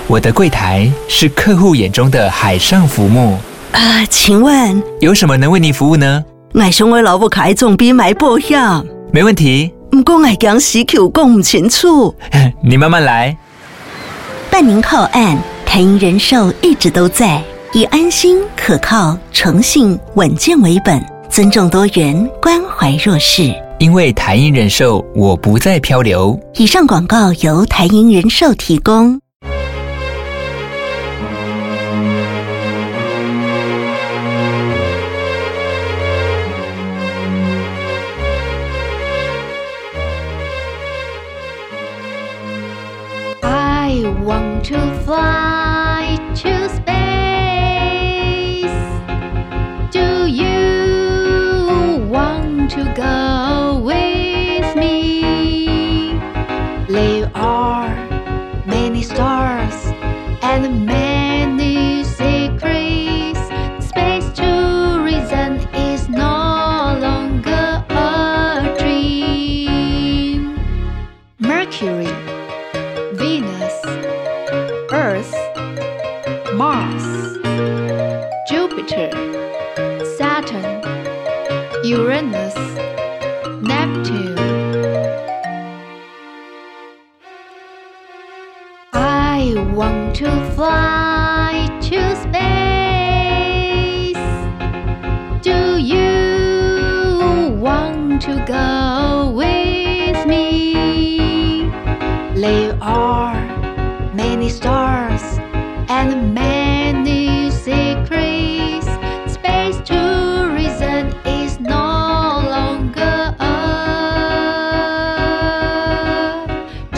我的櫃檯是客戶眼中的海上浮木。 請問有什麼能為您服務呢？ 我想我老母開總比買保險。 沒問題。 不過我講時口講不清楚。 你慢慢來。 辦您靠岸，台銀人壽一直都在，以安心、可靠、誠信、穩健為本，尊重多元，關懷弱勢。 因為台銀人壽，我不再漂流。 以上廣告由台銀人壽提供。 I want to fly to space. Do you want to go with me? There are many stars and many secrets. Space tourism is no longer a dream. Mercury, Venus, Earth, Mars, Jupiter, Saturn, Uranus, Neptune. I want to fly to space. Do you want to go with me? There are many stars and many secrets. Space tourism is no longer a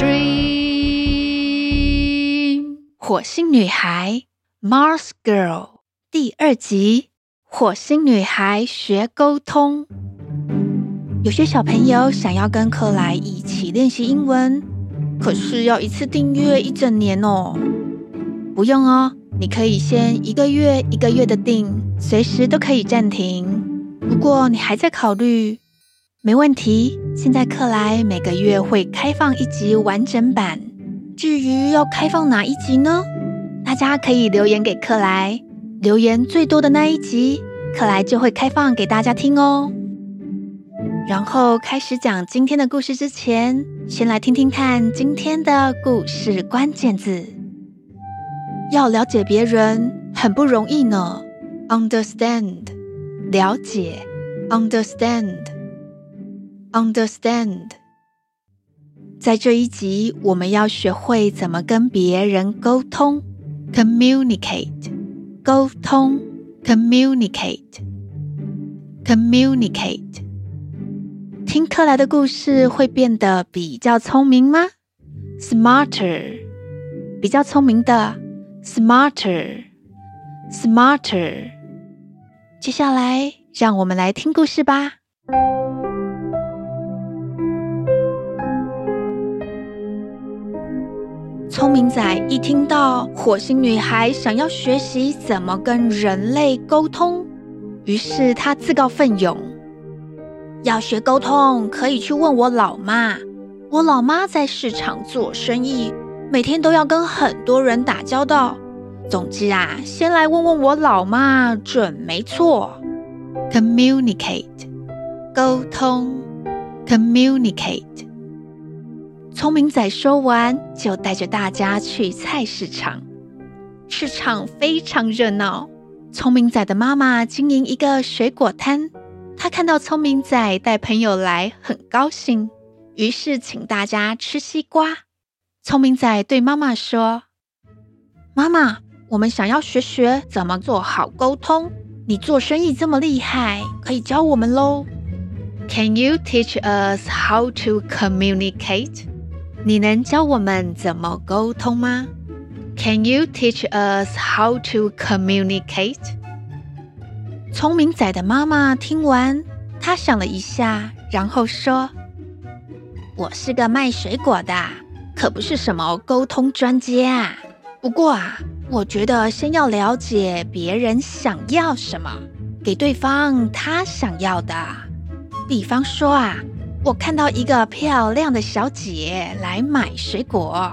dream. 火星女孩 Mars Girl 第2集，火星女孩學溝通。有些小朋友想要跟克萊一起練習英文，可是要一次訂閱1整年哦。不用哦，你可以先1個月1個月的訂，隨時都可以暫停。如果你還在考慮，沒問題，現在克萊每個月會開放1集完整版。至於要開放哪1集呢？大家可以留言給克萊，留言最多的那1集，克萊就會開放給大家聽哦。然後開始講今天的故事之前，先來聽聽看今天的故事關鍵字。要了解別人很不容易呢。Understand， 了解。Understand， Understand。在這一集，我們要學會怎麼跟別人溝通。Communicate， 溝通。Communicate， Communicate。聽克萊的故事會變得比較聰明嗎？ Smarter， 比較聰明的。Smarter， Smarter。接下來，讓我們來聽故事吧。聰明仔一聽到火星女孩想要學習怎麼跟人類溝通，於是他自告奮勇。要學溝通，可以去問我老媽。我老媽在市場做生意，每天都要跟很多人打交道。總之啊，先來問問我老媽準沒錯。Communicate， 溝通。Communicate。聰明仔說完，就帶着大家去菜市場。市場非常熱鬧。聰明仔的媽媽經營一個水果攤。他看到聰明仔帶朋友來，很高興，於是請大家吃西瓜。聰明仔對媽媽說：“媽媽，我們想要學學怎麼做好溝通，你做生意這麼厲害，可以教我們咯。” Can you teach us how to communicate? 你能教我們怎麼溝通嗎？ Can you teach us how to communicate? 聰明仔的媽媽聽完，她想了一下，然後說：“我是個賣水果的，可不是什麼溝通專家啊。不過啊，我覺得先要了解別人想要什麼，給對方他想要的。比方說啊，我看到一個漂亮的小姐來買水果，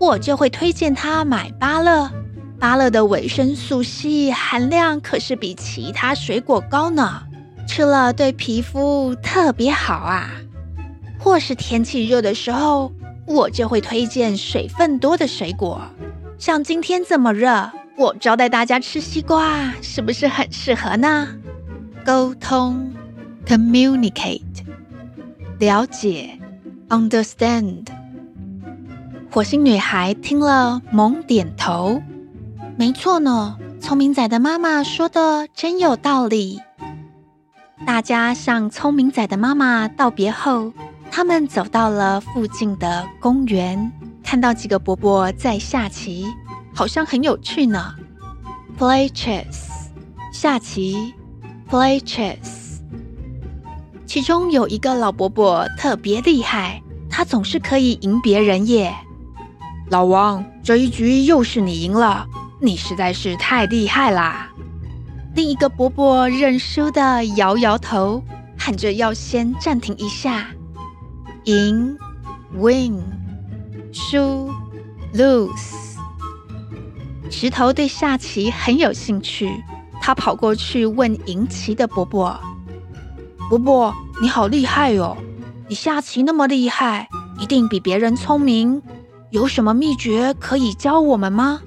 我就會推薦他買芭樂。芭樂的維生素 C 含量可是比其他水果高呢，吃了對皮膚特別好啊。或是天氣熱的時候，我就會推薦水分多的水果。像今天這麼熱，我招待大家吃西瓜，是不是很適合呢？溝通 communicate， 了解 understand。 火星女孩聽了猛點頭，沒錯呢，聰明仔的媽媽說的真有道理。大家向聰明仔的媽媽道別後，他們走到了附近的公園，看到幾個伯伯在下棋，好像很有趣呢。Play chess， 下棋 Play chess。 其中有一個老伯伯特別厲害，他總是可以贏別人耶。老王，這一局又是你贏了，你實在是太厲害啦。另一個伯伯認輸的搖搖頭，喊着要先暫停一下。贏 win， 輸 lose。 石頭對下棋很有興趣，他跑過去問贏棋的伯伯：伯伯，你好厲害哦，你下棋那麼厲害，一定比別人聰明，有什麼祕訣可以教我們嗎？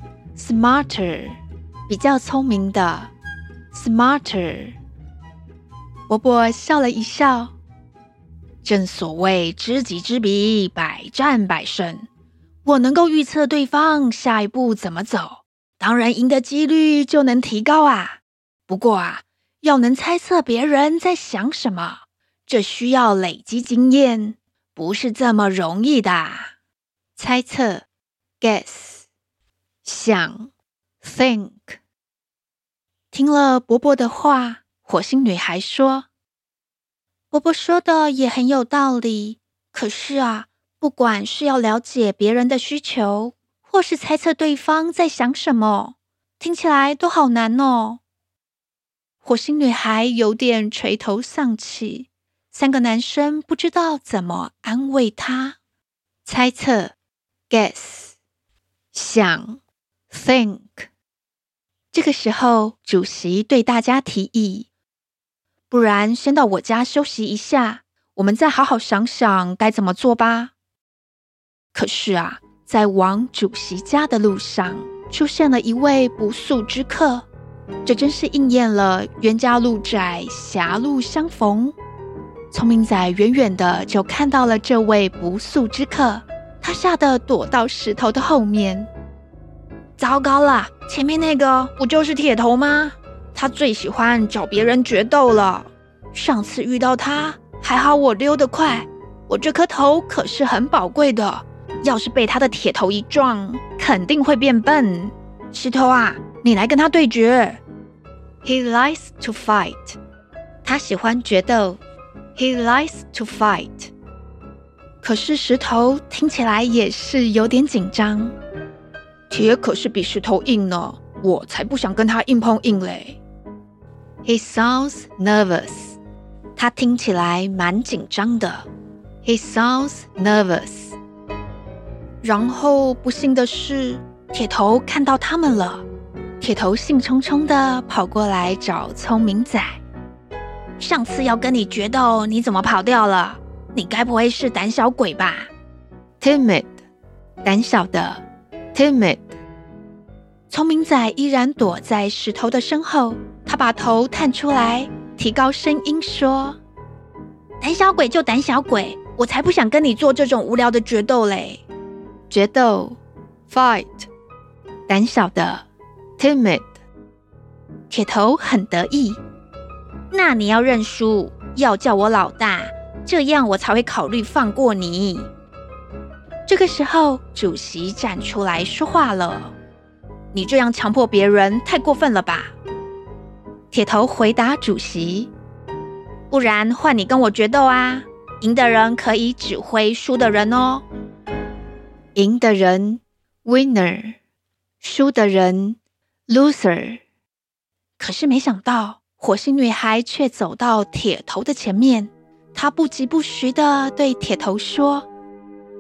Smarter， 比較聰明的 Smarter。 伯伯笑了一笑，正所謂知己知彼，百戰百勝。我能夠預測對方下一步怎麼走，當然贏的幾率就能提高啊。不過啊，要能猜測別人在想什麼，這需要累積經驗，不是這麼容易的。猜測 guess， 想 think。 聽了伯伯的話，火星女孩說：伯伯說的也很有道理，可是啊，不管是要了解別人的需求，或是猜測對方在想什麼，聽起來都好難哦。火星女孩有點垂頭喪氣，三個男生不知道怎麼安慰她。猜測 guess， 想 think。 這個時候，主席對大家提議：不然先到我家休息一下，我們再好好想想該怎麼做吧。可是啊，在往主席家的路上，出現了一位不速之客，這真是應驗了冤家路窄，狹路相逢。聰明仔遠遠的就看到了這位不速之客，他嚇得躲到石頭的後面。糟糕了，前面那個不就是鐵頭嗎？他最喜歡找別人決鬥了。上次遇到他，還好我溜得快，我這顆頭可是很寶貴的，要是被他的鐵頭一撞，肯定會變笨。石頭啊，你來跟他對決。He likes to fight。 他喜歡決鬥。He likes to fight。 可是石頭聽起來也是有點緊張。鐵可是比石頭硬呢，我才不想跟他硬碰硬嘞。He sounds nervous。 他聽起來蠻緊張的。He sounds nervous。 然後不幸的是，鐵頭看到他們了。鐵頭興沖沖的跑過來找聰明仔。上次要跟你決鬥，你怎麼跑掉了？你該不會是膽小鬼吧？ Timid， 膽小的 Timid。 聰明仔依然躲在石頭的身後，他把頭探出來，提高聲音說：膽小鬼就膽小鬼，我才不想跟你做這種無聊的決鬥嘞。決鬥 Fight。 膽小的 Timid。 鐵頭很得意。那你要認輸，要叫我老大，這樣我才會考慮放過你。這個時候，主席站出來說話了：你這樣強迫別人太過分了吧？鐵頭回答主席：不然換你跟我決鬥啊，贏的人可以指揮輸的人哦。贏的人 Winner， 輸的人 Loser。 可是沒想到，火星女孩卻走到鐵頭的前面，她不疾不徐地對鐵頭說：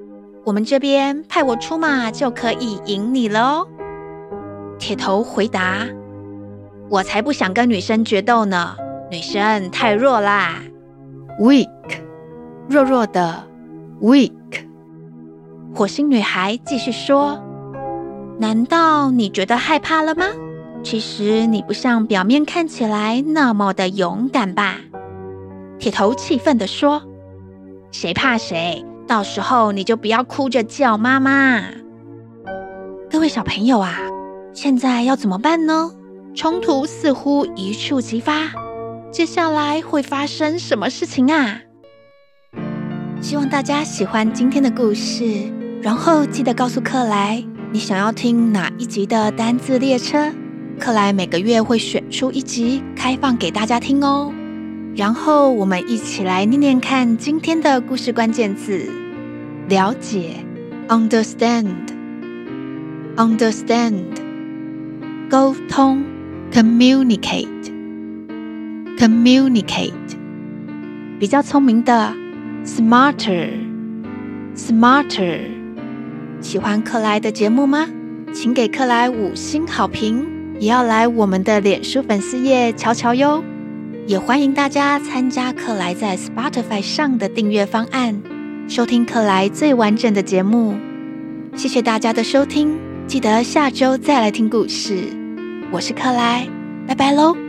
我們這邊派我出馬就可以贏你了哦。鐵頭回答：我才不想跟女生決鬥呢，女生太弱啦。Weak， 弱弱的 weak。火星女孩繼續說：難道你覺得害怕了嗎？其實你不像表面看起來那麼的勇敢吧？鐵頭氣憤地說：誰怕誰？到時候你就不要哭着叫媽媽。各位小朋友啊，現在要怎麼辦呢？衝突似乎一觸即發，接下來會發生什麼事情啊？希望大家喜歡今天的故事，然後記得告訴克萊你想要聽哪一集的單字列車，克萊每個月會選出一集開放給大家聽哦。然後我們一起來念念看今天的故事關鍵字：了解 understand， 溝通 communicate， 比較聰明的 smarter。喜歡克萊的節目嗎？請給克萊5星好評，也要來我們的臉書粉絲頁瞧瞧喲。也歡迎大家參加克萊在 Spotify 上的訂閱方案，收聽克萊最完整的節目。謝謝大家的收聽，記得下周再來聽故事。我是克萊，拜拜嘍。